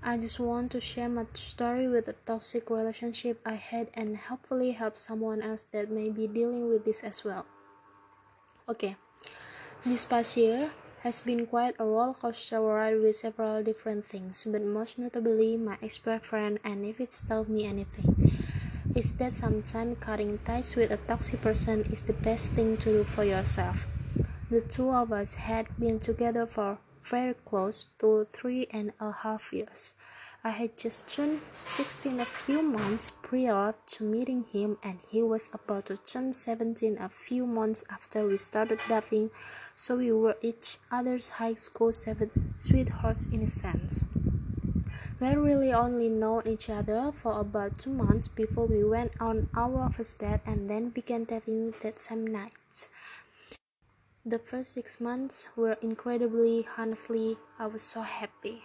I just want to share my story with a toxic relationship I had and hopefully help someone else that may be dealing with this as well. Okay, this past year has been quite a roller coaster ride with several different things, but most notably my ex-boyfriend, and if it's told me anything, it's that sometimes cutting ties with a toxic person is the best thing to do for yourself. The two of us had been together for very close to 3.5 years. I had just turned 16 a few months prior to meeting him, and he was about to turn 17 a few months after we started dating, so we were each other's high school sweethearts in a sense. We had really only known each other for about 2 months before we went on our first date and then began dating that same night. The first 6 months were incredibly. Honestly, I was so happy.